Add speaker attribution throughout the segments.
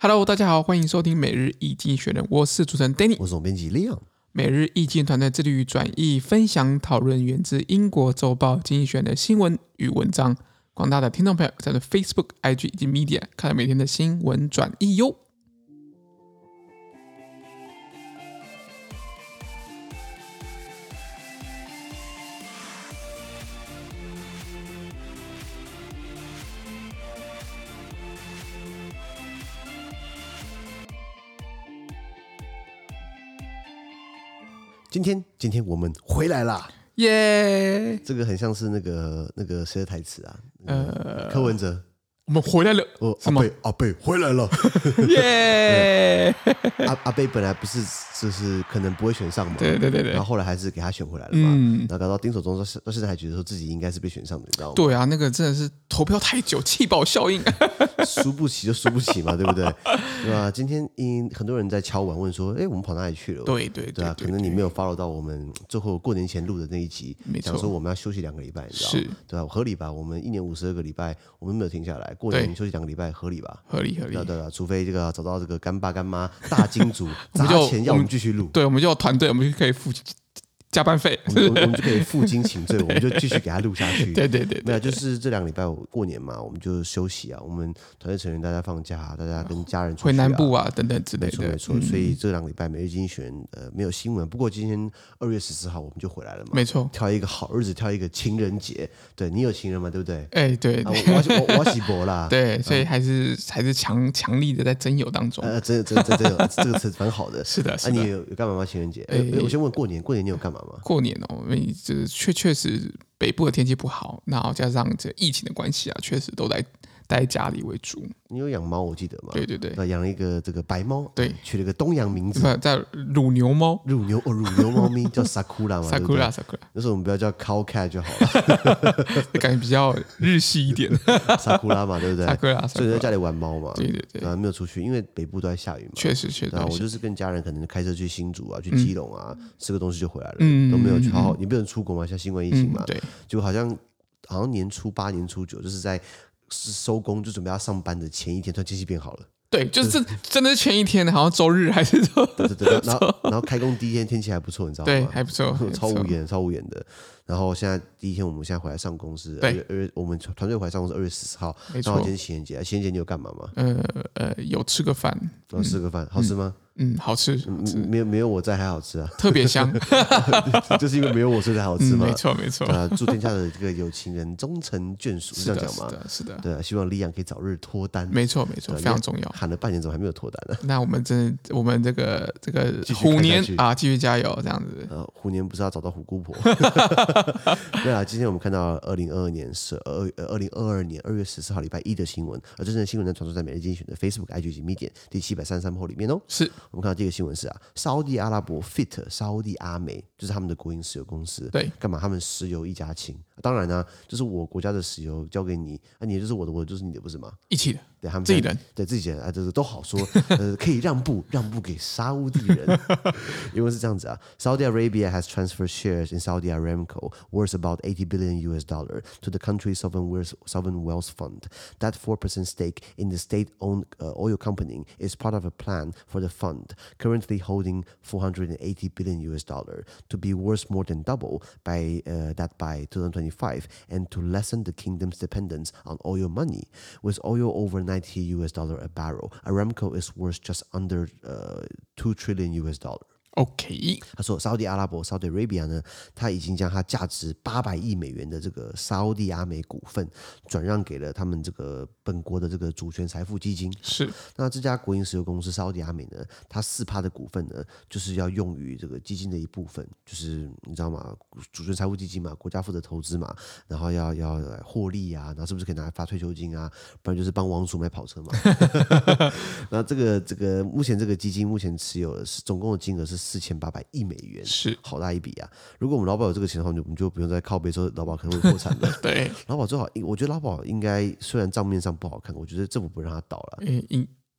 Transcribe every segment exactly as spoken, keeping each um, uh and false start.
Speaker 1: Hello， 大家好，歡迎收聽每日一經濟學人，我是主持人 Danny，
Speaker 2: 我是總編輯 Leon。
Speaker 1: 每日一經團隊致力於轉譯、分享、討論源自英國週報《經濟學人》的新聞與文章。廣大的聽眾朋友在 Facebook、I G 以及 Media 看每天的新聞轉譯喲。
Speaker 2: 今天，今天我們回來啦！
Speaker 1: 耶、yeah ！
Speaker 2: 這個很像是那個那個誰的台詞啊？呃，柯文哲，
Speaker 1: 我們回來了。
Speaker 2: 哦，阿貝，阿貝回來了！
Speaker 1: 耶、yeah ！
Speaker 2: 阿阿貝本來不是就是可能不會選上嘛？
Speaker 1: 對對對對。
Speaker 2: 然後後來還是給他選回來了嘛？嗯。然後搞到丁守中到到現在還覺得說自己應該是被選上的，你知道嗎？
Speaker 1: 對啊，那個真的是投票太久，棄保效應。
Speaker 2: 輸不起就輸不起嘛，對不對？對吧？今天因很多人在敲碗問說，哎，我們跑哪裡去了？
Speaker 1: 對對對，
Speaker 2: 對啊，可能你沒有 follow 到我們最後過年前錄的那一集，講說我們要休息兩個禮拜，你知道嗎？對吧？合理吧？我們一年五十二個禮拜，我們沒有停下來，過年休息兩個禮拜，合理吧？合理合理。對對，除非這個找到這個乾爸乾媽大金主砸錢要我們繼續錄，
Speaker 1: 對，我們就有團隊，我們就可以付加班費，
Speaker 2: 我們我們就可以負荊請罪，我們就繼續給他錄下去。
Speaker 1: 對對對，
Speaker 2: 沒有，就是這兩個禮拜過年嘛，我們就休息啊。我們團隊成員大家放假，大家跟家人出去、啊、
Speaker 1: 回南部啊等等之類的。
Speaker 2: 沒錯沒錯，嗯、所以這兩個禮拜每日經濟學人呃沒有新聞。不過今天二月十四號我們就回來了嘛。沒錯，挑一個好日子，挑一個情人節。對，你有情人嗎？對不對？哎對，對啊、我我我喜博啦。對，所以還是、嗯、還是強強力的在徵友當中。呃，真真真真有這個詞蠻好的。是的，是的。那、啊、你有有幹嘛嗎？情人節？哎，我先問過年，過年你有幹嘛嗎？過年哦。因為這確確實北部的天氣不好，然後加上這疫情的關係啊，確實都在待在家裡為主。你有養貓，我記得嗎？對對對，養了一個這個白貓，對，取了個東洋名字，叫乳牛貓，乳牛哦，乳牛貓咪叫 Sakura 嘛 ，Sakura Sakura。那時候我們不要叫 Cow Cat 就好了，感覺比較日系一點。Sakura 嘛，對不對 ？Sakura， 所以在家裡玩貓嘛，對對對，啊，沒有出去，因為北部都在下雨嘛。確實確實。然後我就是跟家人可能開車去新竹啊，去基隆啊，吃個東西就回來了，都沒有去好好，你不能出國嘛，像新冠疫情嘛，對，就好像好像年初八、年初九，就是在。是收工就準備要上班的前一天，突然天氣變好了。對，就是真的是前一天，好像周日還是周。對對對，然後然後開工第一天天氣還不錯，你知道嗎？對，還不錯，超無言，超無言的。然後現在第一天，我們現在回來上公司，二月二月，我們團隊回來上公司二月十四號，沒錯。然後今天情人節，情人節你有幹嘛嗎？呃呃，有吃個飯，有吃個飯，好吃嗎？嗯，好吃，沒有沒有我在還好吃啊，特別香，就是因為沒有我所以才好吃嘛。沒錯沒錯。啊，祝天下的這個有情人終成眷屬，是這樣講嗎？是的，是的。對啊，希望Leon可以早日脫單。沒錯沒錯，非常重要。喊了半年，怎麼還沒有脫單呢？那我們真的，我們這個這個虎年啊，繼續加油，這樣子。呃，虎年不是要找到虎姑婆？對啊，今天我們看到二零二二年十二呃二零二二年二月十四號禮拜一的新聞，而真正的新聞呢傳送在每日經濟學人的 Facebook、I G 及 Medium 第七百三十三號裡面哦。是。我們看到第一個新聞是啊，沙烏地阿拉伯 F I T 沙烏地阿美就是他們的國營石油公司，對，幹嘛？他們石油一家親，當然呢、啊，就是我國家的石油交給你，啊，你就是我的，我的就是你的，不是嗎？一起的，對，他們自己人，對自己人啊，這個都好說，呃，可以讓步，讓步給沙烏地人，因為是這樣子啊 ，Saudi Arabia has transferred shares in Saudi Aramco worth about eighty billion U S dollar to the country's sovereign wealth sovereign wealth fund. That four percent stake in the state-owned uh, oil company is part of a plan for the fund, currently holding four hundred eighty billion U S dollar, to be worth more than double by uh, that by twenty twenty-five, and to lessen the kingdom's dependence on oil money. With oil over ninety U S dollar a barrel, Aramco is worth just under uh, two trillion U S dollar. OK， 他說，沙烏地阿拉伯 （Saudi Arabia） 呢，他已經將它價值八百億美元的這個沙烏地阿美股份轉讓給了他們這個本國的這個主權財富基金。是，那這家國營石油公司沙烏地阿美呢，它四趴的股份呢，就是要用於這個基金的一部分，就是你知道嗎？主權財富基金嘛，國家負責投資嘛，然後要要獲利啊，然後是不是可以拿來發退休金啊？不然就是幫王儲買跑車嘛。那這個這個目前這個基金目前持有的是總共的金額是四千八百億美元，是好大一筆啊！如果我們勞保有這個錢的話，我們就不用再靠北說勞保可能會破產了。對，勞保最好，我覺得勞保應該雖然賬面上不好看，我覺得政府不讓它倒了。應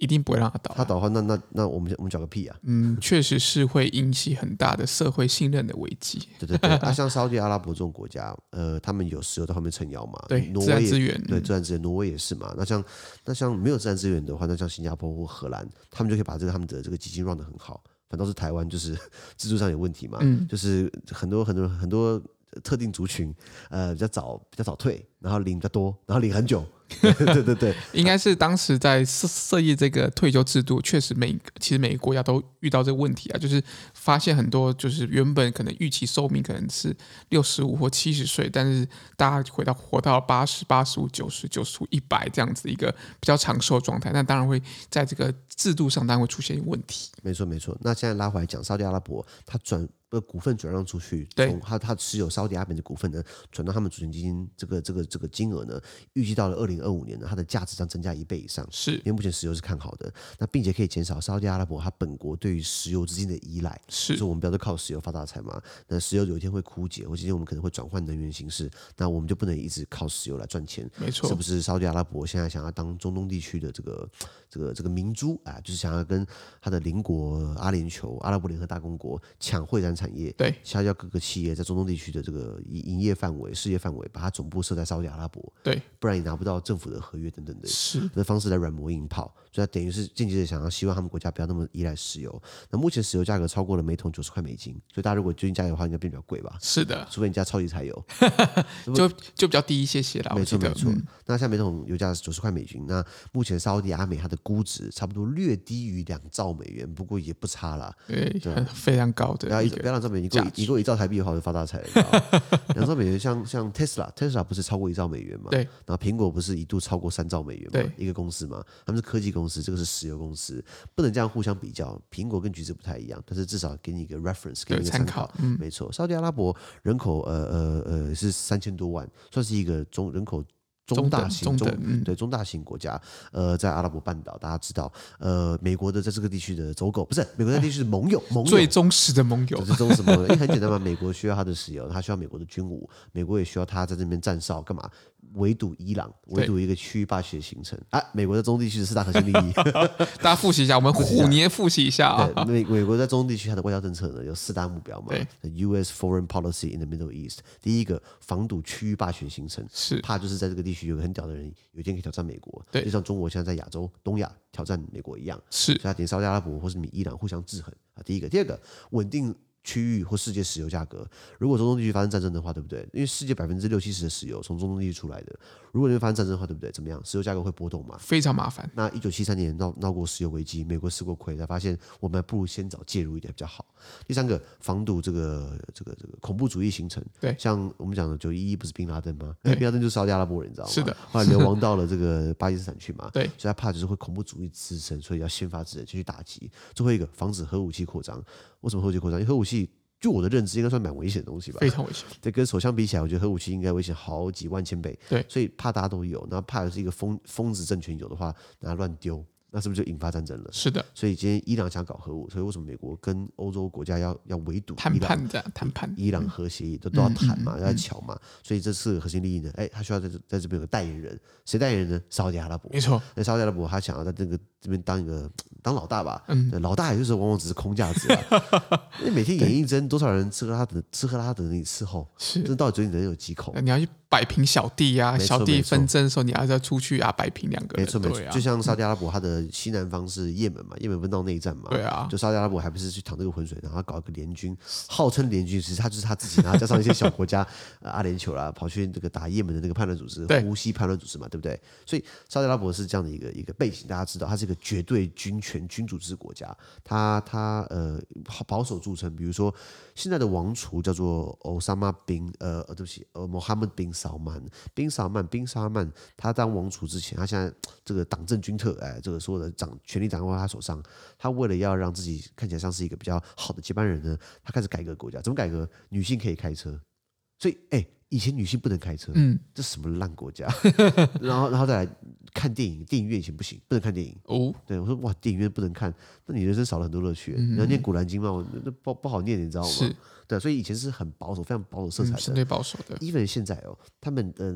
Speaker 1: 一定不會讓他倒。
Speaker 2: 他倒的話，那那那我們我們繳個屁啊！
Speaker 1: 嗯，確實是會引起很大的社會信任的危機。
Speaker 2: 對對對，啊，像沙烏地阿拉伯這種國家，呃，他們有石油在後面撐腰嘛？
Speaker 1: 對，
Speaker 2: 挪威
Speaker 1: 自然資源，
Speaker 2: 對，自然資源，挪威也是嘛。那像那像沒有自然資源的話，那像新加坡或荷蘭，他們就可以把這個他們的這個基金 run 得很好。反倒是台灣就是制度上有問題嘛，嗯、就是很多很多很多特定族群，呃，比較早比較早退，然後領比較多，然後領很久。對對對對，
Speaker 1: 應該是當時在設設立這個退休制度，確實每其實每個國家都遇到這個問題啊，就是發現很多就是原本可能預期壽命可能是六十五或七十歲，但是大家回到活到八十八十五九十九十五一百這樣子一個比較長壽的狀態，那當然會在這個制度上當然會出現問題。
Speaker 2: 沒錯沒錯，那現在拉回來講，沙特阿拉伯它轉呃股份轉讓出去，從他他持有沙特阿拉伯的股份呢，轉到他們主權基金這個這個這個金額呢，預計到了二零二五年呢，它的價值將增加一倍以上。
Speaker 1: 是，
Speaker 2: 因為目前石油是看好的，那並且可以減少沙特阿拉伯它本國對於石油資金的依賴。
Speaker 1: 是，
Speaker 2: 所以我們不要再靠石油發大財嘛。那石油有一天會枯竭，或今天我們可能會轉換能源形式，那我們就不能一直靠石油來賺錢。
Speaker 1: 沒錯，
Speaker 2: 是不是沙特阿拉伯現在想要當中東地區的這個這個這個明珠啊，就是想要跟他的鄰國阿聯酋、阿拉伯聯合大公國搶會展產業？對。要各個企業在中東地區的這個營業範圍、事業範圍，把它總部設在沙特阿拉伯，對，不然你拿不到政府的合約等等的，是的方式來軟磨硬泡，所以它等於是間接的想要希望他們國家不要那麼依賴石油。那目前石油價格超過了每桶九十塊美金，所以大家如果最近加油的話，應該變比較貴吧？是的，除非你加超級柴油，
Speaker 1: 就就比較低一些些了。沒錯沒錯。嗯、那像每桶油價是九十塊美金，那目前沙特阿美它的估值差不多略低於兩兆美元，不過也不差啦，對，對非常高的。不要不要兩兆美元，一個一兆台幣的話，我就發大財了。兩兆美元像，像像 Tesla，Tesla 不是超過一兆美元嘛？對。然後蘋果不是一度超過三兆美元嘛？對。一個公司嘛，他們是科技公司，這個是石油公司，不能這樣互相比較。蘋果跟橘子不太一樣，但是至少給你一個 reference， 給你一個參考。嗯，沒錯。沙特阿拉伯人口呃呃呃是三千多萬，算是一個中人口。中大型中，中、嗯、對中大型國家，呃，在阿拉伯半島，大家知道，呃，美國的在這個地區的走狗不是美國在地區的盟友，盟友最忠實的盟友，最忠實盟友，因為很簡單嘛，美國需要他的石油，他需要美國的軍武，美國也需要他在這邊站哨幹嘛？圍堵伊朗，圍堵一個區域霸權的形成啊！美國在中東地區的四大核心利益，大家複習一下，我們虎年複習一下啊。對，美美國在中東地區它的外交政策呢有四大目標嘛？對 ，U S Foreign Policy in the Middle East， 第一個防堵區域霸權形成，是怕就是在這個地區有個很屌的人，有一天可以挑戰美國，對，就像中國現在在亞洲、東亞挑戰美國一樣，是，所以他點沙特阿拉伯或是米伊朗互相制衡啊。第一個，第二個，穩定區域或世界石油價格，如果中東地區發生戰爭的話，對不對？因為世界百分之六七十的石油從中東地區出來的，如果那邊發生戰爭的話，對不對？怎麼樣？石油價格會波動嘛？非常麻煩。那一九七三年鬧鬧過石油危機，美國吃過虧，才發現我們還不如先早介入一點比較好。第三個，防堵這個這個這個恐怖主義形成。對，像我們講的九一一不是賓拉登嗎？賓拉登就是沙特阿拉伯人，你知道嗎？是的。後來流亡到了這個巴基斯坦去嘛？對。所以他怕就是會恐怖主義滋生，所以要先發制人，先去打擊。最後一個，防止核武器擴張。為什麼核武器擴張？因為核武器。就我的認知，應該算蠻危險的東西吧？非常危險。對，跟手槍比起來，我覺得核武器應該危險好幾萬千倍。對，所以怕大家都有，然後怕的是一個瘋瘋子政權有的話，拿亂丟。那是不是就引發戰爭了？是的，所以今天伊朗想搞核武，所以為什麼美國跟歐洲國家要要圍堵談判這樣談判伊朗核協議都都要談嘛，要喬嘛？所以這次核心利益呢，哎，他需要在這在這邊有個代言人，誰代言人呢？沙特阿拉伯，沒錯。那沙特阿拉伯他想要在這個這邊當一個當老大吧？嗯，老大也就是往往只是空架子啊。因為每天演藝真多少人吃喝拉等吃喝拉撒等着你伺候，是這到底嘴裡能有幾口？你要去擺平小弟呀，小弟紛爭的時候，你還是要出去啊，擺平兩個人。沒錯沒錯，就像沙特阿拉伯他的。西南方是也門嘛，也門不是鬧內戰嘛？對啊，就沙特阿拉伯還不是去淌這個渾水，然後搞一個聯軍，號稱聯軍，其實他就是他自己，然後加上一些小國家，呃、阿聯酋啦，跑去這個打也門的那個叛亂組織，胡西叛亂組織嘛，對不對？所以沙特阿拉伯是這樣的一個一個背景，大家知道，它是一個絕對軍權君主制國家，它它呃保守著稱，比如說現在的王儲叫做歐薩馬賓呃呃對不起呃穆罕默德賓薩曼賓薩曼賓薩曼，他當王儲之前，他現在這個黨政軍特哎這個所有的掌權力掌握在他手上，他為了要讓自己看起來像是一個比較好的接班人呢，他開始改革國家。怎麼改革？女性可以開車，所以哎，以前女性不能開車，嗯，這什麼爛國家？然後，然後再來看電影，電影院以前不行，不能看電影哦。對我說哇，電影院不能看，那你人生少了很多樂趣。嗯、你要念古蘭經嗎？那不不好念，你知道嗎？是對，所以以前是很保守，非常保守色彩的，相對保守的。even 現在哦，他們嗯。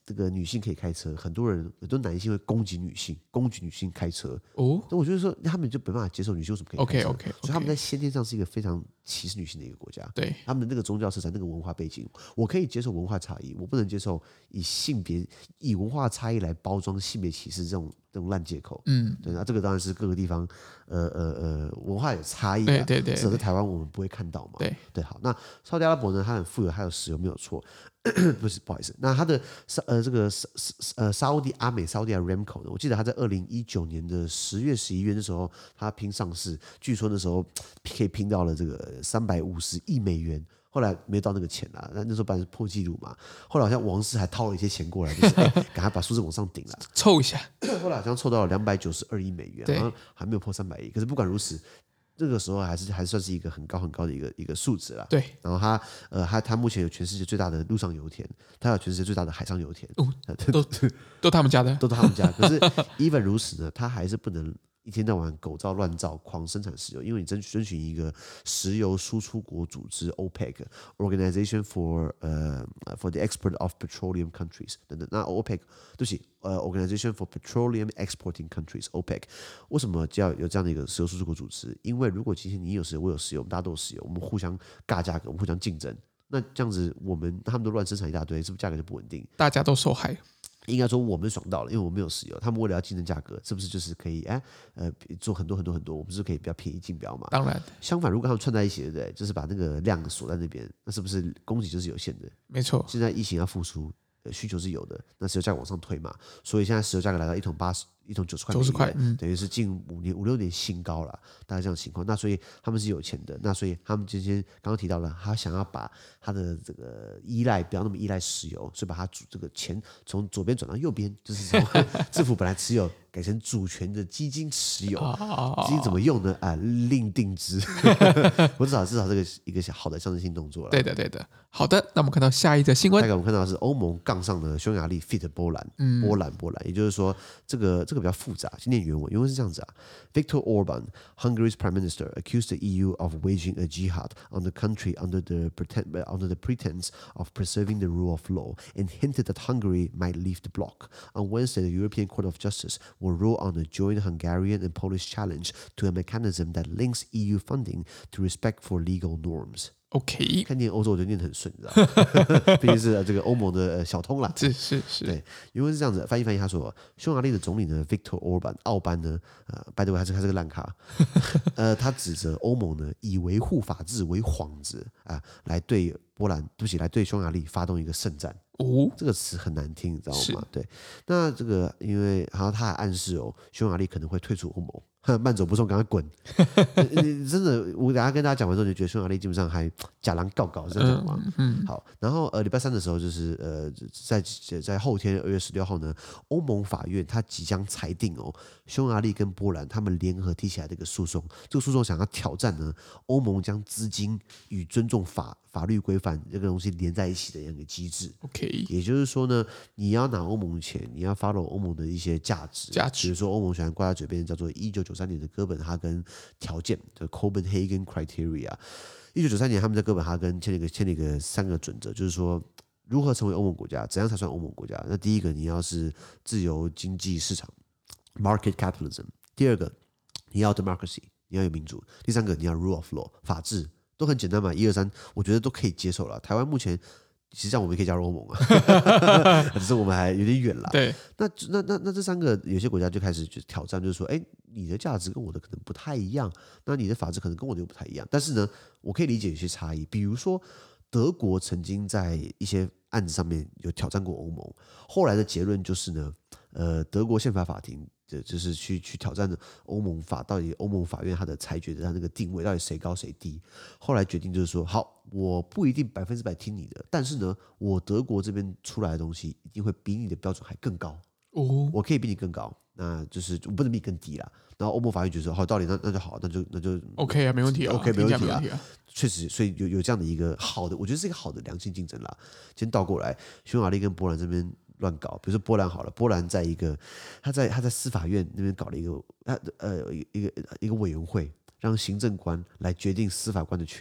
Speaker 2: 這個女性可以開車，很多人很多男性會攻擊女性，攻擊女性開車。哦，那我覺得說他們就沒辦法接受女性為什麼可以開車
Speaker 1: ？OK OK，, okay.
Speaker 2: 所以他們在先天上是一個非常歧視女性的一個國家。
Speaker 1: 對，
Speaker 2: 他們的那個宗教色彩、那個文化背景，我可以接受文化差異，我不能接受以性別、以文化差異來包裝性別歧視這種這種爛借口。嗯，對，那這個當然是各個地方呃呃呃文化有差異。對對對，至少在台灣我們不會看到嘛。對對，好，那沙特阿拉伯呢，它很富有，它有石油沒有錯。不是，不好意思。那它的呃這個呃沙烏地阿美沙烏地 Aramco 呢，我記得它在二零一九年的十月十一月的時候，它拼上市，據說那時候可以拼到了這個三百五十億美元。後來沒到那個錢啦，那那時候本來是破紀錄嘛。後來好像王室還掏了一些錢過來，就是趕快、欸、把數字往上頂了，
Speaker 1: 湊一下。
Speaker 2: 後來好像湊到了兩百九十二億美元，然後還沒有破三百億。可是不管如此，這個時候還是還算是一個很高很高的一個一個數值啦。對，然後它呃它它目前有全世界最大的陸上油田，它有全世界最大的海上油田，哦、
Speaker 1: 都都他們家的，
Speaker 2: 都他們家。可是 even 如此呢，它還是不能一天到晚狗造亂造，狂生產石油，因為你遵遵循一個石油輸出國組織 OPEC Organization for 呃、uh, for the Export of Petroleum Countries 等等。那 OPEC 對不起，呃 Organization for Petroleum Exporting Countries OPEC 為什麼就要有這樣的一個石油輸出國組織？因為如果今天你有石油，我有石油，我們大家都有石油，我們互相尬價格，我們互相競爭，那這樣子我們他們都亂生產一大堆，是不是價格就不穩定？
Speaker 1: 大家都受害。
Speaker 2: 應該說我們爽到了，因為我們沒有石油，他們為了要競爭價格，是不是就是可以哎呃做很多很多很多，我們是可以比較便宜競標嘛？當然。相反，如果他們串在一起，對不對？就是把那個量鎖在那邊，那是不是供給就是有限的？沒錯。現在疫情要復甦，需求是有的，那石油價格往上推嘛，所以現在石油價格來到一桶八十。一桶九十塊，九十塊，嗯，等於是近五年五六年新高了，大概這樣的情況。那所以他們是有錢的，那所以他們今天剛剛提到了，他想要把他的這個依賴不要那麼依賴石油，所以把他主這個錢從左邊轉到右邊，就是從政府本來持有改成主權的基金持有，基金怎麼用呢？啊，另定之。我至少至少這個一個好的象徵性動作了。對的，對的。好的，那我們看到下一則新聞。下一個我們看到的是歐盟槓上了匈牙利 feat. 波蘭，嗯，波蘭波蘭，也就是說這個。這個比較複雜，先念原文。原文是這樣子啊 ：Viktor Orban, Hungary's prime minister, accused the E U of waging a jihad on the country under the pretend, under the pretense of preserving the rule of law, and hinted that Hungary might leave the bloc. On Wednesday, the European Court of Justice will rule on a joint Hungarian and Polish challenge to a mechanism that links E U funding to respect for legal norms. OK， 看念歐洲我就念得很順，你知道嗎？畢竟是這個歐盟的小通啦。是是是，對，因為是這樣子，翻譯翻譯，他說，匈牙利的總理呢 ，Viktor Orban，奧班呢，呃，by the way，他是他是個爛咖，呃，他指責歐盟呢以維護法治為幌子啊、呃，來對波蘭，對不起，來對匈牙利發動一個聖戰。哦，這個詞很難聽，你知道嗎？對，那這個因為好像他還暗示哦，匈牙利可能會退出歐盟。慢走不送，趕快滾！你真的，我等一下跟大家講完之後，就覺得匈牙利基本上還假狼告告，是這樣講嗎？嗯，好。然後呃，禮拜三的時候，就是呃，在在後天二月十六號呢，歐盟法院它即將裁定哦，匈牙利跟波蘭他們聯合提起來的一個訴訟，這個訴訟想要挑戰呢，歐盟將資金與尊重法法律規範這個東西連在一起的一個機制。OK，也就是說呢，你要拿歐盟錢，你要 follow 歐盟的一些價值，價值，比如說歐盟喜歡掛在嘴邊叫做一九九三年的哥本哈根條件的 Copenhagen Criteria。一九九三年他們在哥本哈根簽了一個簽了一個三個準則，就是說如何成為歐盟國家，怎樣才算歐盟國家？那第一個你要是自由經濟市場 Market Capitalism， 第二個你要 Democracy， 你要有民主，第三個你要 Rule of Law， 法治。都很簡單嘛，一二三，我覺得都可以接受了。台灣目前其實這樣我們可以加入歐盟啊，只是我們還有點遠了。對，那那那那這三個有些國家就開始就挑戰，就是說，哎，你的價值跟我的可能不太一樣，那你的法治可能跟我的又不太一樣。但是呢，我可以理解有些差異，比如說德國曾經在一些案子上面有挑戰過歐盟，後來的結論就是呢，呃，德國憲法法庭。就是去去挑戰的歐盟法，到底歐盟法院它的裁決的它那個定位到底誰高誰低？後來決定就是說，好，我不一定百分之百聽你的，但是呢，我德國這邊出來的東西一定會比你的標準還更高哦，我可以比你更高，那就是我不能比你更低啦。然後歐盟法院覺得說，好，道理那那就好，那就那就 OK 啊，沒問題啊 ，OK 沒問題啊，確實，所以有有這樣的一個好的，我覺得是一個好的良性競爭啦。先倒過來，匈牙利跟波蘭這邊。亂搞，比如說波蘭好了，波蘭在一個他在他在司法院那邊搞了一個他呃一個一個委員會，讓行政官來決定司法官的去留。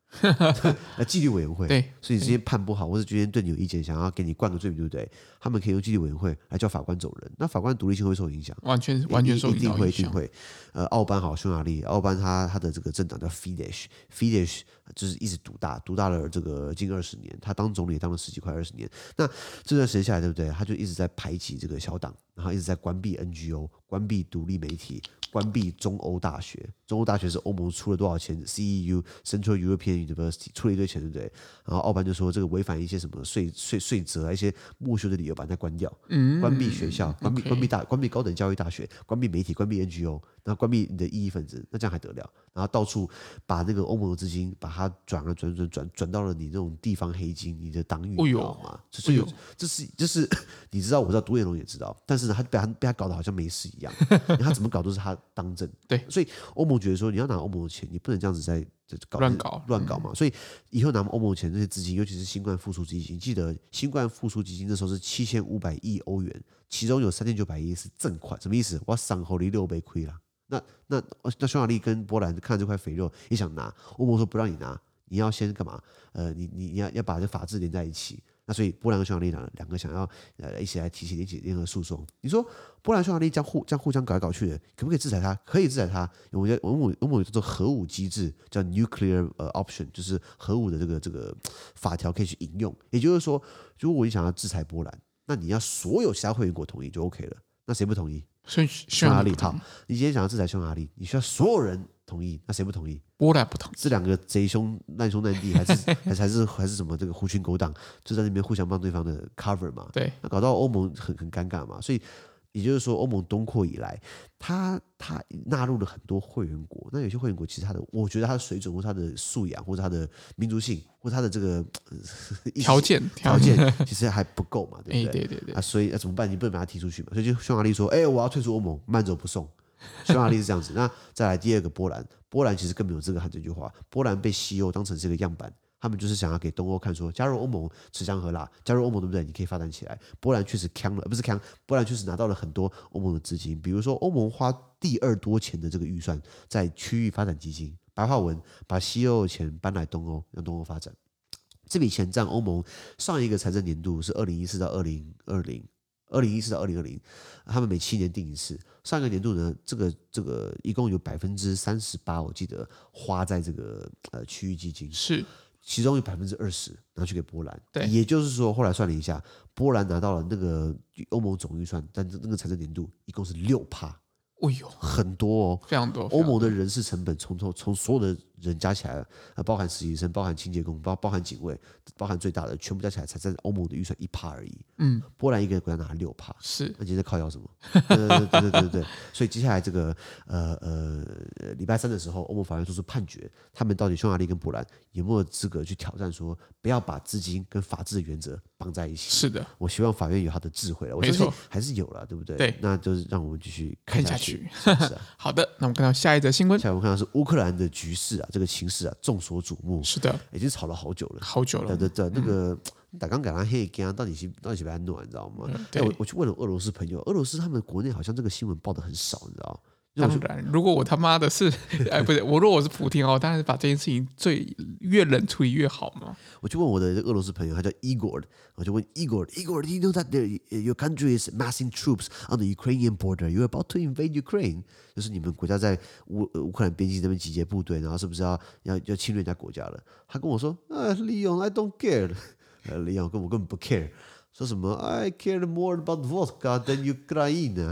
Speaker 2: 那紀律委員會，
Speaker 1: 對，
Speaker 2: 所以你今天判不好，或者今天對你有意見，想要給你灌個罪名，對不對？他們可以用紀律委員會來叫法官走人，那法官獨立性會受影響，
Speaker 1: 完全完全受影響，
Speaker 2: 一定會一定會。呃，奧班好，匈牙利，奧班他他的這個政黨叫 Fidesz，Fidesz 就是一直獨大，獨大了這個近二十年，他當總理也當了十幾快二十年。那這段時間下來，對不對？他就一直在排擠這個小黨，然後一直在關閉 N G O， 關閉獨立媒體。關閉中歐大學，中歐大學是歐盟出了多少錢 ？C E U Central European University 出了一堆錢，對不對？然後奧班就說這個違反一些什麼稅稅稅則啊，一些剝削的理由，把它關掉，嗯、關閉學校，關閉 okay. 關閉大關閉高等教育大學，關閉媒體，關閉 N G O， 然後關閉你的異議分子，那這樣還得了？然後到處把那個歐盟的資金，把它轉啊轉轉轉轉到了你那種地方黑金，你的黨羽，你知道嗎？所以這是這是你知道，我知道，獨眼龍也知道，但是呢，他被他被他搞得好像沒事一樣，他怎麼搞都是他當政。
Speaker 1: 對，
Speaker 2: 所以歐盟覺得說，你要拿歐盟的錢，你不能這樣子在搞
Speaker 1: 亂搞
Speaker 2: 亂搞嘛。所以以後拿歐盟的錢，這些資金，尤其是新冠復甦基金，記得新冠復甦基金那時候是七千五百億歐元，其中有三千九百億是贈款，什麼意思？我賞厚利六倍虧了。那那那匈牙利跟波蘭看這塊肥肉也想拿，歐盟說不讓你拿，你要先幹嘛？呃，你你你要要把這法治連在一起。那所以波蘭跟匈牙利兩兩個想要呃一起來提起聯起聯合訴訟。你說波蘭匈牙利這樣互這樣互相搞來搞去的，可不可以制裁他？可以制裁他。我們我們我們有叫做核武機制，叫 nuclear 呃 option，就是核武的這個這個法條可以去引用。也就是說，如果你想要制裁波蘭，那你要所有其他會員國同意就 OK 了。那誰不同意？匈牙利。好，你今天想要制裁匈牙利，你需要所有人同意，那誰不同意？
Speaker 1: 波蘭不同意。
Speaker 2: 這兩個賊兄難兄難弟，還是還是還是還是什麼這個狐群狗黨，就在那邊互相幫對方的 cover 嘛。
Speaker 1: 對，
Speaker 2: 那搞到歐盟很很尷尬嘛。所以也就是說，歐盟東擴以來，它它納入了很多會員國。那有些會員國其實它的，我覺得它的水準或它的素養或者它的民族性或它的這個
Speaker 1: 條件
Speaker 2: 條件其實還不夠嘛，對不對？
Speaker 1: 對對對
Speaker 2: 啊，所以那怎麼辦？你不能把它踢出去嘛。所以就匈牙利說：“哎，我要退出歐盟，慢走不送。”匈牙利是這樣子。那再來第二個波蘭，波蘭其實根本沒有資格喊這句話。波蘭被西歐當成這個樣板。他們就是想要給東歐看說，加入歐盟吃香喝辣，加入歐盟對不對？你可以發展起來。波蘭確實強了，不是強，波蘭確實拿到了很多歐盟的資金，比如說歐盟花第二多錢的這個預算在區域發展基金，白話文把西歐的錢搬來東歐，讓東歐發展。這筆錢佔歐盟上一個財政年度是二零一四到二零二零，二零一四到二零二零，他們每七年定一次。上一個年度呢，這個這個一共有百分之三十八，我記得花在這個呃區域基金
Speaker 1: 是。
Speaker 2: 其中有百分之二十拿去給波蘭，
Speaker 1: 對，
Speaker 2: 也就是說，後來算了一下，波蘭拿到了那個歐盟總預算，但那個財政年度一共是六趴。
Speaker 1: 哎呦，
Speaker 2: 很多哦，
Speaker 1: 非常多。
Speaker 2: 歐盟的人事成本從從從所有的人加起來，包含實習生、包含清潔工、包包含警衛、包含最大的，全部加起來才在歐盟的預算一趴而已。嗯，波蘭一個國家拿六趴，
Speaker 1: 是。
Speaker 2: 那今天在靠腰什麼？對對對對對對對。所以接下來這個呃呃禮拜三的時候，歐盟法院做出判決，他們到底匈牙利跟波蘭有沒有資格去挑戰說，不要把資金跟法治的原則綁在一起？是的，我希望法院有他的智慧了。我相信還是有了，對不對？對，那就是讓我們繼續看下去。是啊，
Speaker 1: 好的，那我們看到下一則新聞。
Speaker 2: 下一我們看到是烏克蘭的局勢啊，這個情勢啊眾所矚目。是的，已經吵了好久了，
Speaker 1: 好久了。
Speaker 2: 對對對，那個打剛改完黑干，到底是到底是不是安暖，你知道嗎？嗯、對，我我去問了俄羅斯朋友，俄羅斯他們國內好像這個新聞報得很少，你知道。
Speaker 1: 當然，如果我他媽的是，哎，不是，我如果我是普丁哦，當然是把這件事情最越冷處理越好嘛。
Speaker 2: 我就問我的俄羅斯朋友，他叫 Igor， 我就問 Igor，Igor， do you know that the, your country is massing troops on the Ukrainian border? You're about to invade Ukraine， 就是你們國家在烏烏克蘭邊境這邊集結部隊，然後是不是要要要侵略人家國家了？他跟我說，啊，Leon，I don't care，呃，Leon，跟我根本不 care。說什麼 I care more about vodka than Ukraine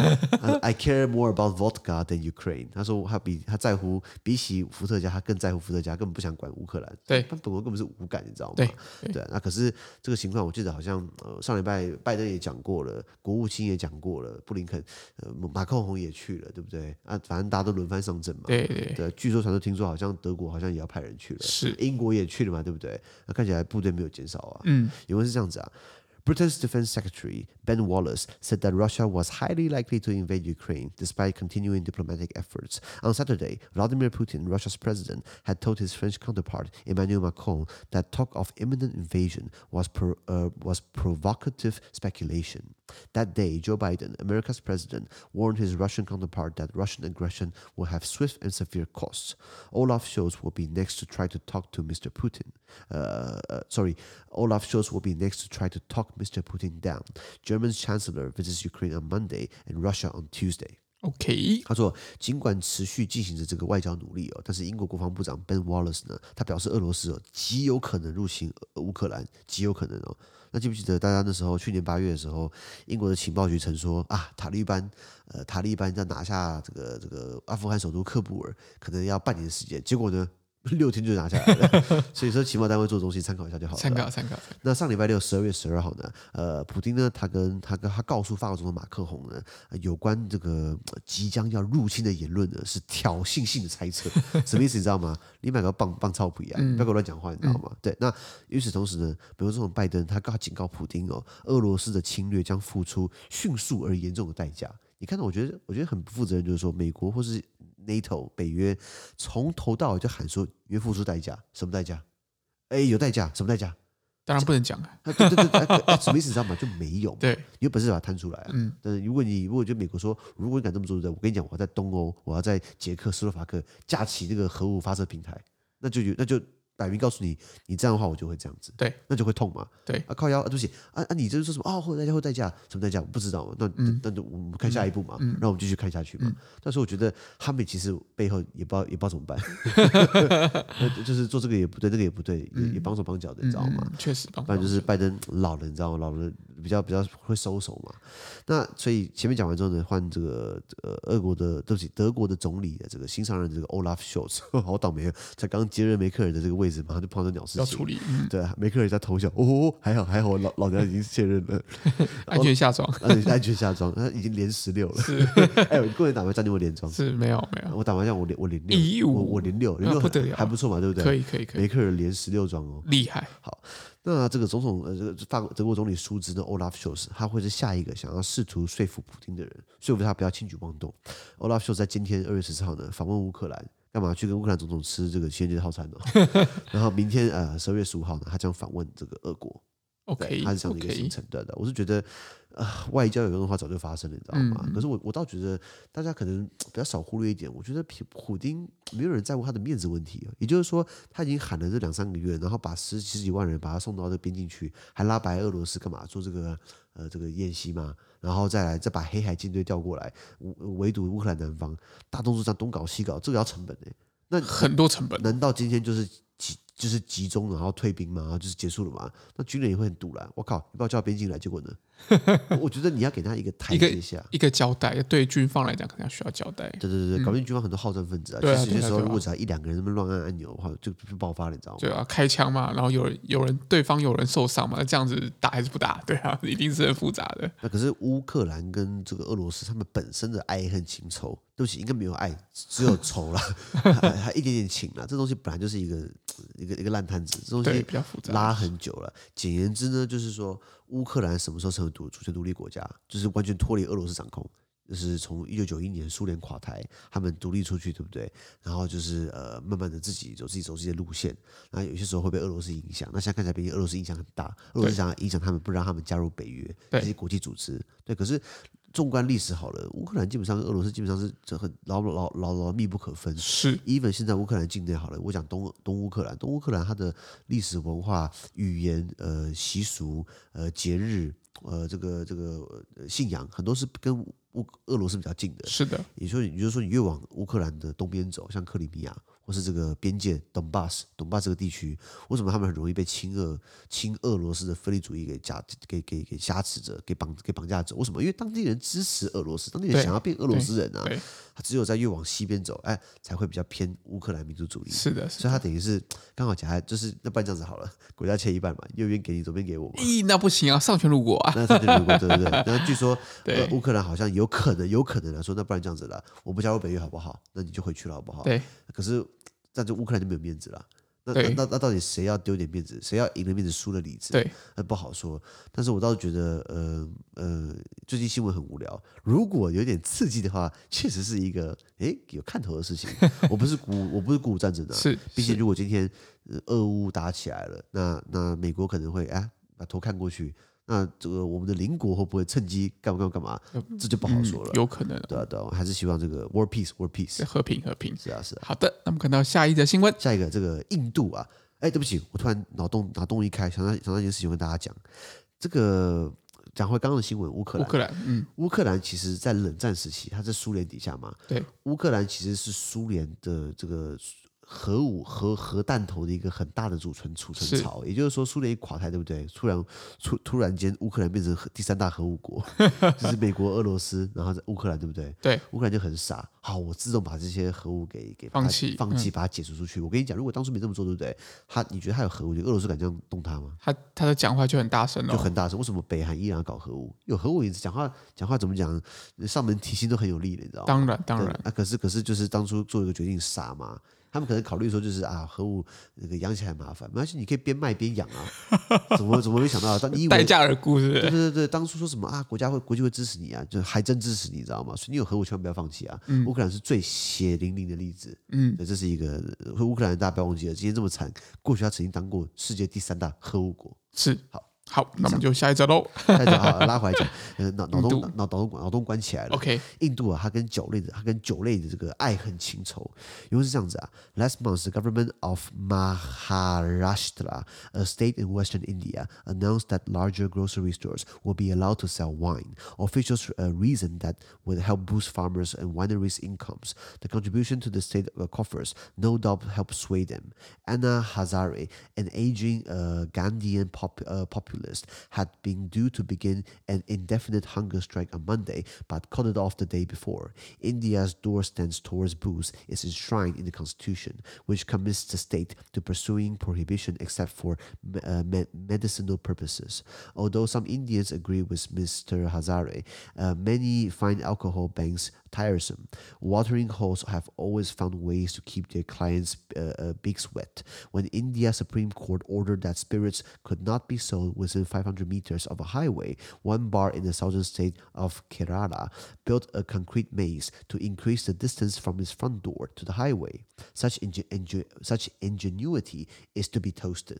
Speaker 2: I care more about vodka than Ukraine 他說他比他在乎比起伏特加他更在乎伏特加，根本不想管烏克蘭。對，他本國根本是無感，你知道嗎？對，對，對。那可是這個情況我記得好像呃上禮拜拜登也講過了，國務卿也講過了，布林肯呃馬克宏也去了，對不對啊？反正大家都輪番上陣嘛。對對，對。據說傳說聽說好像德國好像也要派人去了，是英國也去了嘛，對不對？那看起來部隊沒有減少啊。嗯，因為是這樣子啊。Britain's Defense Secretary Ben Wallace said that Russia was highly likely to invade Ukraine despite continuing diplomatic efforts. On Saturday, Vladimir Putin, Russia's president, had told his French counterpart Emmanuel Macron that talk of imminent invasion was pro, uh, was provocative speculation. That day, Joe Biden, America's president, warned his Russian counterpart that Russian aggression will have swift and severe costs. Olaf Scholz will be next to try to talk to Mister Putin. Uh, uh, sorry, Olaf Scholz will be next to try to talk Mister Putin down. German's chancellor visits Ukraine on Monday and Russia on Tuesday.
Speaker 1: OK，
Speaker 2: 他說，儘管持續進行着這個外交努力哦，但是英國國防部長 Ben Wallace 呢，他表示俄羅斯哦極有可能入侵烏克蘭，極有可能哦。那記不記得大家那時候去年八月的時候，英國的情報局曾說啊，塔利班呃塔利班要拿下這個這個阿富汗首都喀布爾，可能要半年時間，結果呢？六天就拿下來了，所以說情報單位做東西參考一下就好了。
Speaker 1: 參考參考。
Speaker 2: 那上禮拜六十二月十二號呢，呃，普丁呢，他跟他跟他告訴法國總統馬克宏呢，有關這個即將要入侵的言論呢，是挑釁性的猜測。什麼意思？你知道嗎？你買個棒棒操不一樣，不要給我亂講話，你知道嗎？嗯、對。那與此同時呢，美國總統拜登他告警告普丁哦，俄羅斯的侵略將付出迅速而嚴重的代價。你看到，我覺得我覺得很不負責任，就是說美國或是 NATO 北約從頭到尾就喊說約付出代價，什麼代價？哎，有代價，什麼代價？
Speaker 1: 當然不能講啊！
Speaker 2: 對對對，哎，什麼意思？你知道嗎？就沒有嘛。
Speaker 1: 對，
Speaker 2: 你有本事把它攤出來啊！
Speaker 1: 嗯，
Speaker 2: 但是如果你如果就美國說，如果你敢這麼做，我跟你講，我要在東歐，我要在捷克斯洛伐克架起這個核武發射平台，那就那就。擺明告訴你，你這樣的話我就會這樣子，
Speaker 1: 對，那
Speaker 2: 就會痛嘛，
Speaker 1: 對
Speaker 2: 啊，靠腰啊，對不起啊啊，你這是說什麼啊？會有代價，會代價，什麼代價？我不知道嘛，那、嗯、那那我們看下一步嘛，嗯、然後我們繼續看下去嘛。嗯、但是我覺得他們其實背後也不知道也不知道怎麼辦，就是做這個也不對，那個也不對，也也綁手綁腳的，你知道嗎？
Speaker 1: 確實，不
Speaker 2: 然就是拜登老了，你知道嗎？老了比較比較會收手嘛。那所以前面講完之後呢，換這個呃俄國的對不起德國的總理的這個新上任的這個 Olaf Scholz， 好倒霉啊，才剛接任梅克爾的這個位置，馬上就碰到鳥。
Speaker 1: 要處理，嗯、
Speaker 2: 對，梅克爾在偷笑，哦，還好還好，老老娘已經卸任了，
Speaker 1: 安全下莊，
Speaker 2: 安全下莊，他已經連十六了。是，哎，我個人打麻將你有連莊？是沒有沒有，我打麻將我連我連六，我我連六，連六還不錯嘛，對不對？
Speaker 1: 可以可以可以，
Speaker 2: 梅克爾連十六莊哦，厲害。好，那這個總統呃，這個法國德國總理舒茲呢 ，Olaf Scholz，他會是下一個想要試圖說服普丁的人，說服他不要輕舉妄動。Olaf Scholz 在今天二月十四號呢訪問烏克蘭。幹嘛去跟烏克蘭總統吃這個情人節套餐呢？然後明天呃十二月十五號呢，他將訪問這個俄國。OK，他是這樣的一個行程。對的，我是覺得呃外交有用的話早就發生了，你知道嗎？嗯、可是我我倒覺得大家可能比較少忽略一點，我覺得普丁沒有人在乎他的面子問題。也就是說，他已經喊了這兩三個月，然後把十十幾萬人把他送到這個邊境去，還拉白俄羅斯幹嘛做這個呃這個演習嘛？然後再來再把黑海艦隊調過來圍堵烏克蘭南方，大動作這樣東搞西搞，這個要成本呢、欸？那
Speaker 1: 很多成本。
Speaker 2: 難道今天就是集就是集中然後退兵嘛，然後就是結束了嘛？那軍人也會很賭爛。我靠，你把我叫到邊境來，結果呢？我覺得你要給他一個台階下，
Speaker 1: 一個，一個交代。對軍方來講，可能要需要交代。
Speaker 2: 對對對，搞不定軍方很多好戰分子啊。嗯、其實有些時候，如果只要一兩個人那麼亂按按鈕的話，就就爆發了，你知道嗎？
Speaker 1: 對啊，開槍嘛，然後有人有人對方有人受傷嘛，那這樣子打還是不打？對啊，一定是很複雜的。
Speaker 2: 那可是烏克蘭跟這個俄羅斯，他們本身的愛恨情仇，對不起，應該沒有愛，只有仇了，還，還一點點情了。這東西本來就是一個一個一個爛攤子，這東西比較複雜，拉很久了。簡言之呢，就是說烏克蘭什麼時候成為獨主權獨立國家，就是完全脫離俄羅斯掌控，就是從一九九一年蘇聯垮台，他們獨立出去，對不對？然後就是呃，慢慢的自己走自己走自己的路線，然後有些時候會被俄羅斯影響。那現在看起來，畢竟俄羅斯影響很大，俄羅斯想要影響他們，不讓他們加入北約這些國際組織。對，可是縱觀歷史好了，烏克蘭基本上跟俄羅斯基本上是這很牢牢牢牢密不可分。是，even 現在烏克蘭境內好了，我講東東烏克蘭，東烏克蘭它的歷史文化、語言、呃習俗、呃節日。呃，這個這個信仰很多是跟烏俄羅斯比較近的，是的。也就是也就是說，你越往烏克蘭的東邊走，像克里米亞或是這個邊界東巴斯、東巴斯這個地區，為什麼他們很容易被親俄、親俄羅斯的分離主義給加給給給挾持着、給綁給綁架着？為什麼？因為當地人支持俄羅斯，當地人想要變俄羅斯人啊。他只有在越往西邊走，哎，才會比較偏烏克蘭民族主義。是的，是的，所以他等於是剛好夾在，就是那不然這樣子好了，國家切一半嘛，右邊給你，左邊給我嘛。咦，那不行啊，喪權辱國啊！那喪權辱國，對對對。然後據說，呃，烏克蘭好像有可能，有可能來說，那不然這樣子了，我不加入北約好不好？那你就回去了好不好？對。可是，這樣就烏克蘭就沒有面子了。那那那那到底誰要丟點面子？誰要贏了面子輸了裡子？對，那不好說。但是我倒是覺得，呃呃，最近新聞很無聊。如果有點刺激的話，確實是一個誒有看頭的事情。我不是鼓，我不是鼓舞戰爭的、啊。是，畢竟如果今天、呃、俄烏打起來了，那那美國可能會哎把頭看過去， 那這個我們的鄰國會不會趁機幹嘛幹嘛幹嘛？嗯、這就不好說了。
Speaker 1: 嗯、有可能。
Speaker 2: 對啊，對啊，還是希望這個 world peace，world peace，
Speaker 1: 和平，和平。
Speaker 2: 是啊，是啊。
Speaker 1: 好的，那麼看到下一則新聞，
Speaker 2: 下一個這個印度啊，哎，對不起，我突然腦洞腦洞一開，想到想到一件事情跟大家講，這個。講回剛剛的新聞，烏克蘭，烏克蘭，嗯，烏克蘭其實在冷戰時期，它在蘇聯底下嘛，
Speaker 1: 對，
Speaker 2: 烏克蘭其實是蘇聯的這個核武核核彈頭的一個很大的儲存儲存槽，也就是說，蘇聯一垮台，對不對？突然突突然間，烏克蘭變成第三大核武國，就是美國、俄羅斯，然後在烏克蘭，對不對？
Speaker 1: 對，
Speaker 2: 烏克蘭就很傻，好，我自動把這些核武給給
Speaker 1: 放棄，
Speaker 2: 放棄，把它解除出去。我跟你講，如果當初沒這麼做，對不對？他，你覺得他有核武？俄羅斯敢這樣動他嗎？
Speaker 1: 他他的講話就很大聲了，
Speaker 2: 就很大聲。為什麼北韓依然要搞核武？有核武，你講話講話怎麼講？上門提親都很有力的，你知道嗎？
Speaker 1: 當然，當然。
Speaker 2: 啊，可是可是就是當初做一個決定傻嘛。他們可能考慮說，就是啊，核武那個養起來很麻煩，沒關係，你可以邊賣邊養啊。怎麼怎麼沒想到？當你以為
Speaker 1: 待價而沽是不是？
Speaker 2: 對對對，當初說什麼啊，國家會國際會支持你啊，就還真支持你，知道嗎？所以你有核武千萬不要放棄啊。烏、嗯、克蘭是最血淋淋的例子。嗯，這是一個烏克蘭大家不要忘記了，今天這麼慘，過去他曾經當過世界第三大核武國。
Speaker 1: 是，
Speaker 2: 好。
Speaker 1: 好，那我們就下一則嘍。
Speaker 2: 下一則好，拉回來講，呃，腦腦洞腦腦洞腦洞關起來了。
Speaker 1: OK，
Speaker 2: 印度啊，它跟酒類的，它跟酒類的這個愛恨情仇，因為是這樣子啊。Last month, the government of Maharashtra, a state in western India, announced that larger grocery stores will be allowed to sell wine. Officials uh, reasoned that would help boost farmers and wineries' incomes. The contribution to the state uh, coffers no doubt helped sway them. Anna Hazare, an aging uh, Gandhian pop, uh, popular had been due to begin an indefinite hunger strike on Monday, but called it off the day before. India's door stance towards booze is enshrined in the constitution, which commits the state to pursuing prohibition except for uh, me- medicinal purposes. Although some Indians agree with Mister Hazare, uh, many find alcohol bans tiresome. Watering holes have always found ways to keep their clients' uh, uh, beaks wet. When India's Supreme Court ordered that spirits could not be sold within five hundred meters of a highway, one bar in the southern state of Kerala built a concrete maze to increase the distance from its front door to the highway. Such, ingen- ingen- such ingenuity is to be toasted.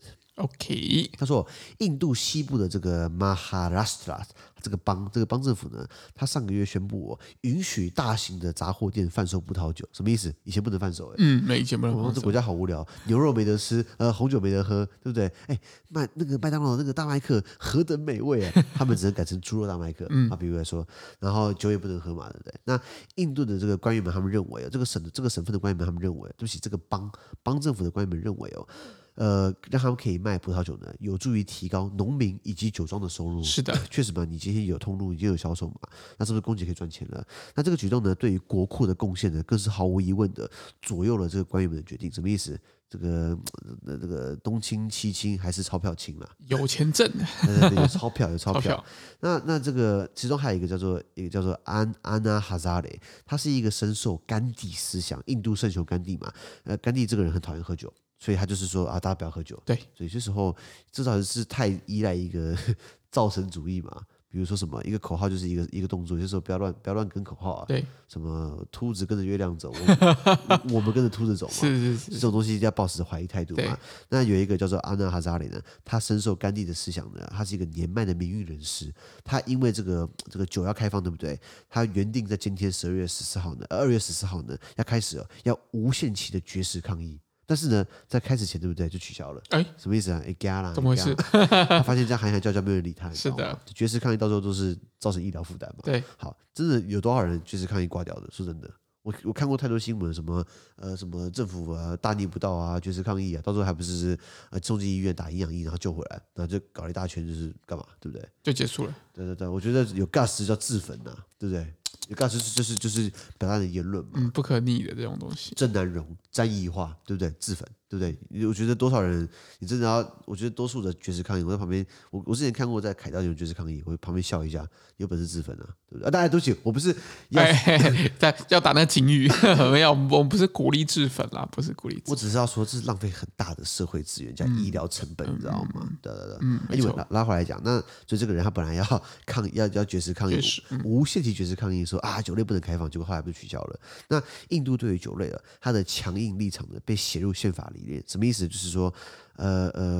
Speaker 1: OK，
Speaker 2: 他說，印度西部的這個 Maharashtra 這個邦，這個邦政府呢，他上個月宣布哦，允許大型的雜貨店販售葡萄酒，什麼意思？以前不能販售，哎，
Speaker 1: 嗯，沒以前不能販售。
Speaker 2: 我們這國家好無聊，牛肉沒得吃，呃，紅酒沒得喝，對不對？哎，麥那個麥當勞那個大麥克何等美味啊！他們只能改成豬肉大麥克，嗯，啊，比如來說，然後酒也不能喝嘛，對不對？那印度的這個官員們他們認為，這個省的這個省份的官員們他們認為，對不起，這個邦邦政府的官員們認為哦。呃，讓他們可以賣葡萄酒呢，有助於提高農民以及酒莊的收入。
Speaker 1: 是的，
Speaker 2: 確實嘛，你今天有通路，已經有銷售嘛，那是不是供給可以賺錢了？那這個舉動呢，對於國庫的貢獻呢，更是毫無疑問的左右了這個官員們的決定。什麼意思？這個呃，這個東親西親還是鈔票親嘛？
Speaker 1: 有錢掙，
Speaker 2: 對對對，有鈔票有鈔票。
Speaker 1: 票
Speaker 2: 那那這個其中還有一個叫做一個叫做安安娜哈扎雷，他是一個深受甘地思想，印度聖雄甘地嘛。呃，甘地這個人很討厭喝酒。所以他就是說啊，大家不要喝酒。
Speaker 1: 對，
Speaker 2: 所以這時候至少是太依賴一個造神主義嘛。比如說什麼，一個口號就是一個一個動作，就是說不要亂不要亂跟口號啊。
Speaker 1: 對，
Speaker 2: 什麼兔子跟着月亮走，我們，我們跟着兔子走嘛。
Speaker 1: 是是是，
Speaker 2: 這種東西一定要抱持懷疑態度嘛。那有一個叫做安娜哈扎雷呢，他深受甘地的思想呢，他是一個年邁的民運人士。他因為這個這個酒要開放，對不對？他原定在今天十二月十四號呢，二月十四號呢要開始了，要無限期的絕食抗議。但是呢，在開始前，對不對，就取消了。哎，什麼意思啊？哎，加啦，
Speaker 1: 怎麼回事？
Speaker 2: 他發現這樣喊喊叫叫，沒有人理他。
Speaker 1: 是的，
Speaker 2: 絕食抗議到時候都是造成醫療負擔嘛。
Speaker 1: 對，好，
Speaker 2: 真的有多少人絕食抗議掛掉的？說真的，我我看過太多新聞，什麼呃什麼政府啊大逆不道啊，絕食抗議啊，到時候還不是是呃送進醫院打營養液，然後救回來，然後就搞了一大圈，就是幹嘛，對不對？
Speaker 1: 就結束了。對
Speaker 2: 對對，我覺得有 guts 叫自焚吶、啊，對不對？有 guts 就是就是就是表達的言論嘛，
Speaker 1: 嗯，不可逆的這種東西。
Speaker 2: 鄭南榕詹宜樺，對不對？自焚，對不對？我覺得多少人，你真的要，我覺得多數的絕食抗議，我在旁邊，我我之前看過在凱道有絕食抗議，我旁邊笑一下，有本事自焚啊，對不對？啊，大家對不起，我不是要
Speaker 1: 在要打那個警語，沒有，我們不是鼓勵自焚啦，不是鼓勵。
Speaker 2: 我只是要說，這是浪費很大的社會資源加醫療成本，你知道嗎？對對對，
Speaker 1: 嗯，
Speaker 2: 因為拉拉回來講，那所以這個人他本來要抗要要絕食抗議，無限期絕食抗議，說啊酒類不能開放，結果後來被取消了。那印度對於酒類了，它的強硬立場呢被寫入憲法裡面，什麼意思？就是說，呃呃，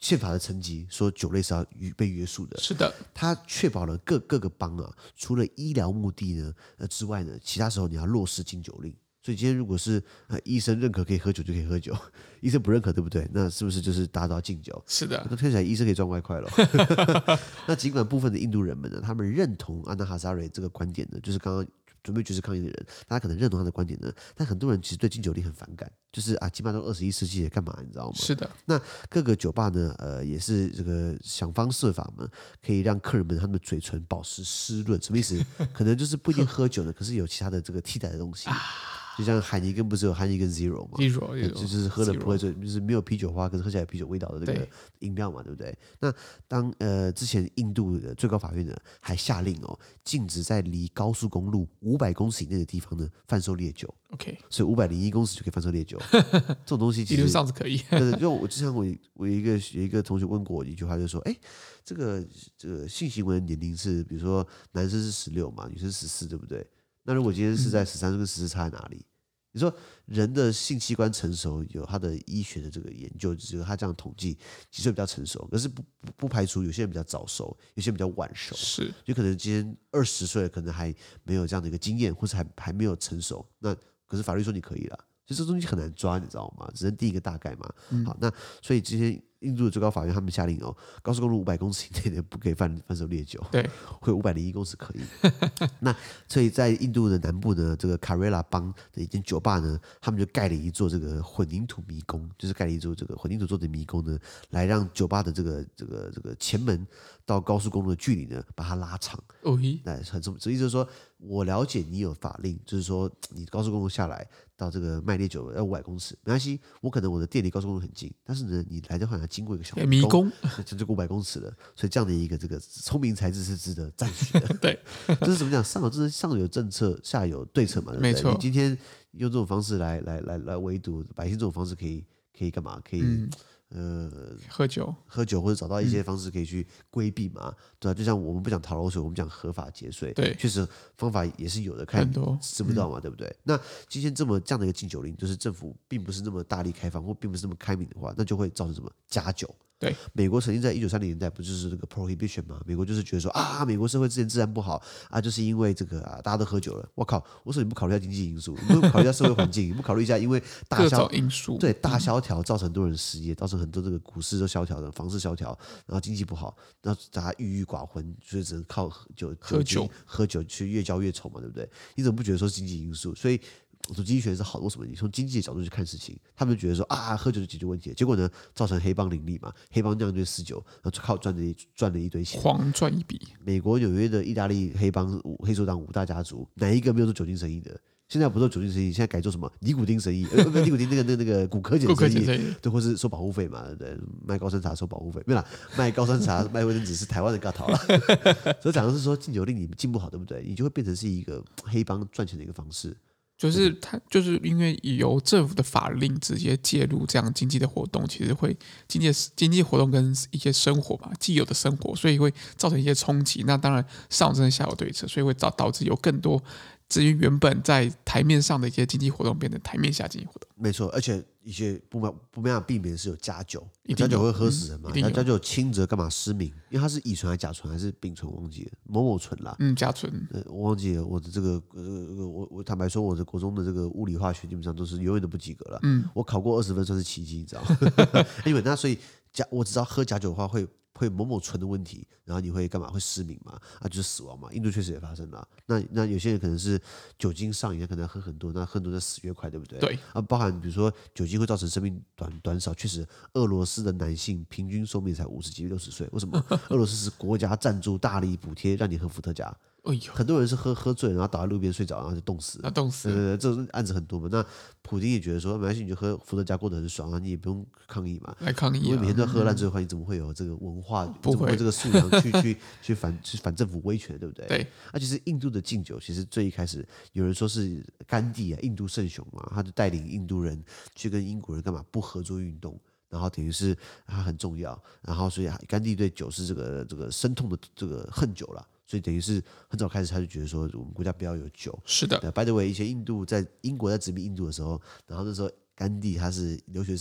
Speaker 2: 憲法的層級說酒類是要被約束的。
Speaker 1: 是的，
Speaker 2: 它確保了各各個邦啊，除了醫療目的呢呃之外呢，其他時候你要落實禁酒令。所以今天如果是呃醫生認可可以喝酒就可以喝酒，醫生不認可對不對？那是不是就是大家都要禁酒？
Speaker 1: 是的，
Speaker 2: 那聽起來醫生可以賺外快了。那儘管部分的印度人們呢，他們認同安娜哈扎瑞這個觀點呢，就是剛剛準備絕食抗議的人，大家可能認同他的觀點呢，但很多人其實對禁酒令很反感，就是啊，起碼都二十一世紀了，幹嘛你知道嗎？
Speaker 1: 是的。
Speaker 2: 那各個酒吧呢，呃，也是這個想方設法嘛，可以讓客人們他們的嘴唇保持濕潤，什麼意思？可能就是不一定喝酒呢，可是有其他的這個替代的東西。就像海尼根不是有海尼根 Zero 嗎
Speaker 1: ？Zero，
Speaker 2: 就是喝了不會醉，就是沒有啤酒花，可是喝起來有啤酒味道的這個飲料嘛，對不對？那當呃之前印度的最高法院呢還下令哦，禁止在離高速公路五百公尺以內的地方呢販售烈酒。
Speaker 1: OK，
Speaker 2: 所以五百零一公尺就可以販售烈酒，這種東西其實
Speaker 1: 理論上是可以。
Speaker 2: 對，就我之前我我有一個有一個同學問過我一句話，就是說，哎，這個這個性行為的年齡是，比如說男生是十六嘛，女生十四，對不對？那如果今天是在十三，跟十四差在哪裡？你說人的性器官成熟有他的醫學的這個研究，就是他這樣統計幾歲比較成熟，可是不不不排除有些人比較早熟，有些人比較晚熟，
Speaker 1: 是，
Speaker 2: 就可能今天二十歲可能還沒有這樣的一個經驗，或是還還沒有成熟，那可是法律說你可以了，所以這東西很難抓，你知道嗎？只能定一個大概嘛。嗯、好，那所以今天印度的最高法院他們下令哦，高速公路五百公尺以內的不可以販販售烈酒，
Speaker 1: 對，
Speaker 2: 會五百零一公尺可以。那所以在印度的南部呢，這個卡瑞拉邦的一間酒吧呢，他們就蓋了一座這個混凝土迷宮，就是蓋了一座這個混凝土做的迷宮呢，來讓酒吧的這個這個這個前門到高速公路的距離呢，把它拉長。
Speaker 1: 哦，
Speaker 2: 那很什麼？這意思就是說，我了解你有法令，就是說你高速公路下來到這個賣烈酒要五百公尺，沒關係，我可能我的店離高速公路很近，但是呢，你來的話要經過一個小迷宮，這就五百公尺了。所以這樣的一個這個聰明才智是值得讚許的。
Speaker 1: 對，
Speaker 2: 這是怎麼講？上有這是上有政策，下有對策嘛，對不對？
Speaker 1: 沒錯。
Speaker 2: 你今天用這種方式來來來來圍堵百姓，這種方式可以可以幹嘛？可以。嗯呃，
Speaker 1: 喝酒，
Speaker 2: 喝酒或者找到一些方式可以去規避嘛，嗯、對啊，就像我們不講逃漏稅，我們講合法節稅，
Speaker 1: 對，
Speaker 2: 確實方法也是有的，看知不知道嘛，嗯、對不對？那今天這麼這樣的一個禁酒令，就是政府並不是那麼大力開放，或並不是那麼開明的話，那就會造成什麼加酒。
Speaker 1: 對，
Speaker 2: 美國曾經在一九三零年代不就是這個 prohibition 嗎？美國就是覺得說啊，美國社會之前治安不好啊，就是因為這個啊，大家都喝酒了。我靠，我說你不考慮一下經濟因素，你不考慮一下社會環境，你不考慮一下因為大蕭
Speaker 1: 因素，
Speaker 2: 對大蕭條造成很多人失業，造成很多這個股市都蕭條的，房市蕭條，然後經濟不好，然後大家鬱鬱寡歡，所以只能靠酒
Speaker 1: 喝酒
Speaker 2: 喝酒去越交越醜嘛，對不對？你怎麼不覺得說是經濟因素？所以。我說經濟學是好的，為什麼？你從經濟的角度去看事情，他們就覺得說啊，喝酒就解決問題，結果呢，造成黑幫林立嘛，黑幫這樣就私酒，然後靠賺了賺了一堆錢，
Speaker 1: 狂賺一筆。
Speaker 2: 美國紐約的意大利黑幫黑手黨五大家族，哪一個沒有做酒精生意的？現在不做酒精生意，現在改做什麼尼古丁生意？呃，尼古丁那個那個那個古柯鹼生意，對，或是收保護費嘛，對，賣高山茶收保護費，沒有啦，賣高山茶賣衛生紙是台灣的尬逃了。所以講的是說禁酒令你禁不好，對不對？你就會變成是一個黑幫賺錢的一個方式。
Speaker 1: 就是他，就是因為由政府的法令直接介入這樣經濟的活動，其實會經濟經濟活動跟一些生活吧，既有的生活，所以會造成一些衝擊。那當然上有政策下有對策，所以會導導致有更多至於原本在台面上的一些經濟活動變成台面下經濟活動。沒錯，
Speaker 2: 而且一些不沒不沒辦法避免是有加酒，加酒會喝死人嘛？加加酒輕則幹嘛失明？因為它是乙醇還是甲醇還是丙醇？我忘記了，某某醇啦。
Speaker 1: 嗯，甲醇。
Speaker 2: 呃，我忘記了。我的這個呃，我我坦白說，我的國中的這個物理化學基本上都是永遠都不及格了。嗯，我考過二十分算是奇蹟，你知道嗎？因為那所以加我只知道喝假酒的話會。會某某醇的問題，然後你會幹嘛？會失明嘛？啊，就是死亡嘛。印度確實也發生了。那那有些人可能是酒精上癮，可能要喝很多，那喝很多就死越快，對不對？
Speaker 1: 對。
Speaker 2: 啊，包含比如說酒精會造成生命短短少，確實，俄羅斯的男性平均壽命才五十幾、六十歲。為什麼？俄羅斯是國家贊助、大力補貼讓你喝伏特加。哎呦，很多人是喝喝醉，然後倒在路邊睡着，然後就凍死了。凍死了。對對對，這種案子很多嘛。那普丁也覺得說，沒關係，你就喝伏特加過得很爽，然後你也不用抗議嘛。
Speaker 1: 來抗議、啊。
Speaker 2: 因為每天都喝爛醉的話，你怎麼會有這個文化？不會，怎麼會有這個素養去去去反去反政府威權，對不對？對。那其實印度的禁酒，其實最一開始有人說是甘地啊，印度聖雄嘛，他就帶領印度人去跟英國人幹嘛不合作運動。然後等於是他很重要，然後所以甘地對酒是這個這個深痛的這個恨酒了，所以等於是很早開始他就覺得說我們國家不要有酒。是的。By the way，以前印度在英國在殖民印度的時候，然後那時候甘地他是留學生，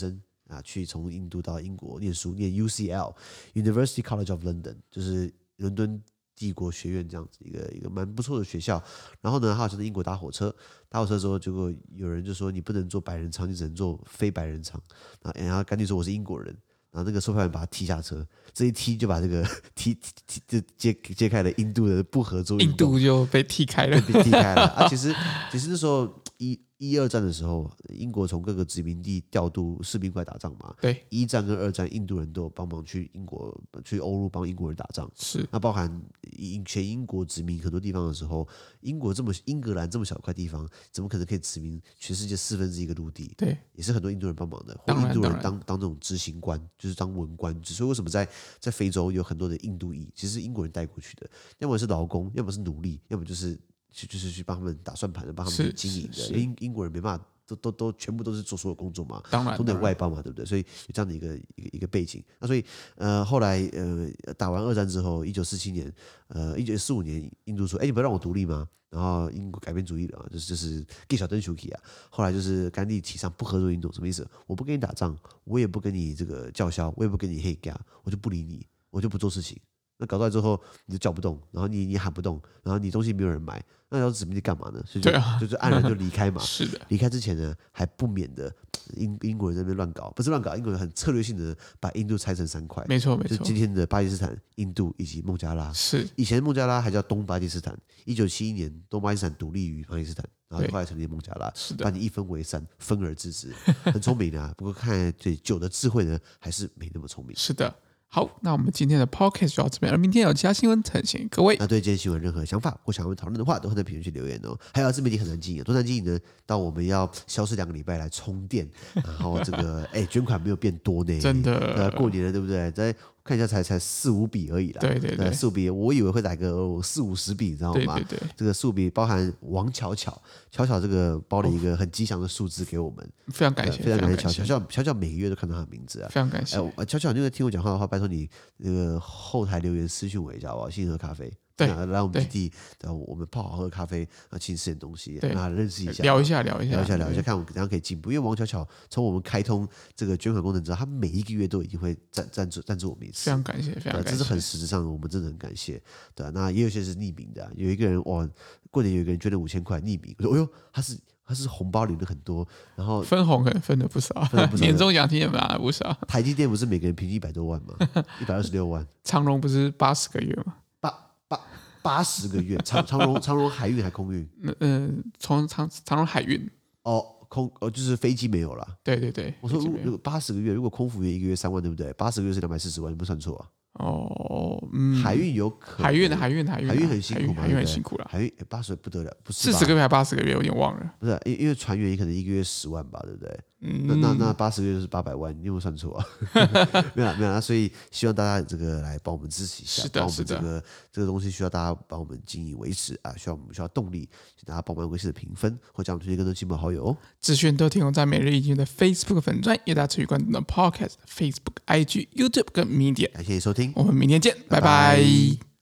Speaker 2: 啊，去從印度到英國念書，念 U C L University College of London， 就是倫敦帝國學院這樣子一個一個蠻不錯的學校。然後呢，他好像在英國搭火車，搭火車之後，結果有人就說你不能坐百人艙，你只能坐非百人艙。然後趕緊說我是英國人。然後那個售票員把他踢下車，這一踢就把這個踢踢就揭揭開了印度的不合作運動，
Speaker 1: 印度就被踢開了，
Speaker 2: 被踢開了啊！其實其實那時候一一二戰的時候，英國從各個殖民地調度士兵過來打仗嘛。
Speaker 1: 對，
Speaker 2: 一戰跟二戰，印度人都有幫忙去英國、去歐陸幫英國人打仗。
Speaker 1: 是，
Speaker 2: 那包含英全英國殖民很多地方的時候，英國這麼英格蘭這麼小一塊地方，怎麼可能可以殖民全世界四分之一個陸地？
Speaker 1: 對，
Speaker 2: 也是很多印度人幫忙的，或印度人當當這種執行官，就是當文官。所以為什麼在在非洲有很多的印度裔，其實是英國人帶過去的，要麼是勞工，要麼是奴隸，要麼就是去就是去幫他們打算盤的，幫他們經營的。英英國人沒辦法。都都都全部都是做所有工作嘛，
Speaker 1: 當然，
Speaker 2: 都得外包嘛，對不對？所以有這樣的一個一個一個背景。那所以呃，後來呃，打完二戰之後，一九四七年，呃，一九四五年，印度說：“哎，你不要讓我獨立嗎？”然後英國改變主意了，就是就是給小登丘基啊。後來就是甘地提倡不合作運動，什麼意思？我不跟你打仗，我也不跟你這個叫囂，我也不跟你黑嘎，我就不理你，我就不做事情。那搞出來之後，你就叫不動，然後你你喊不動，然後你東西沒有人買，那要殖民地幹嘛呢？所以就、啊、就是黯然就離開嘛。
Speaker 1: 是的，
Speaker 2: 離開之前呢，還不免的英英國人在那邊亂搞，不是亂搞，英國人很策略性的把印度拆成三塊，
Speaker 1: 沒錯沒錯，
Speaker 2: 就是今天的巴基斯坦、印度以及孟加拉。是，以前孟加拉還叫東巴基斯坦，一九七一年東巴基斯坦獨立於巴基斯坦，然後後來成立孟加拉，把你一分為三，分而治之，很聰明啊。不過看來對酒的智慧呢，還是沒那麼聰明。
Speaker 1: 是的。好，那我們今天的 podcast 就到這邊，而明天有其他新聞呈現各位。
Speaker 2: 那對今天新聞任何想法或想要討論的話，都會在評論區留言哦。還有自媒體很難經營，多難經營呢？到我們要消失兩個禮拜來充電，然後這個哎捐款沒有變多呢，
Speaker 1: 真的，
Speaker 2: 呃，過年了對不對？在看一下才才四五筆而已啦，
Speaker 1: 對對對，
Speaker 2: 四五筆，我以為會來個四五十筆，你知道嗎？對對對，這個四五筆包含王巧巧，巧巧這個包了一個很吉祥的數字給我們，
Speaker 1: 非常感謝，
Speaker 2: 非常感謝巧巧，巧巧巧巧每個月都看到他的名字啊，
Speaker 1: 非常感謝。
Speaker 2: 哎，巧巧，你有聽我講話的話，拜託你那個後台留言私訊我一下好不好？星河咖啡。對，來我們基地，然後我們泡好喝咖啡，啊，請吃點東西，讓他認識一下，
Speaker 1: 聊一下，聊一下，
Speaker 2: 聊一下，聊一下，看我們怎樣可以進步。因為王巧巧從我們開通這個捐款功能之後，他每一個月都一定會贊贊助贊助我們一次，
Speaker 1: 非常感謝，非常感謝，
Speaker 2: 這是很實質上的，我們真的很感謝。對，那也有些是匿名的，有一個人哇，過年有一個人捐了五千塊匿名，我說，哎呦，他是他是紅包領了很多，然後分紅可能分了不少，年終獎金也拿了不少。台積電不是每個人平均一百多萬嗎？一百二十六萬。長榮不是八十個月嗎？八八。八十個月，長長榮長榮海運還空運？嗯，從長長榮海運哦，空哦就是飛機沒有了。對對對，我說如果八十個月，如果空服員一個月三萬，對不對？八十個月是兩百四十萬，你不算錯啊。哦，嗯，海運有可能，海運海運海運海運很辛苦嘛，海運很辛苦了。海運八十不得了，不是四十個月還八十個月，有點忘了。不是，因因為船員可能一個月十萬吧，對不對？嗯、那那那八十個月就是八百萬，你有沒有算錯啊？沒有沒有，所以希望大家這個來幫我們支持一下，幫我們這個這個東西需要大家幫我們經營維持啊，需要我們需要動力，請大家幫我們維持的評分，或將我們推薦更多親朋好友哦。資訊都提供在每日一經的 Facebook 粉專，也大家持續關注的 Podcast、Facebook、I G、YouTube 跟 Media。感謝你收聽，我們明天見，拜拜。拜拜。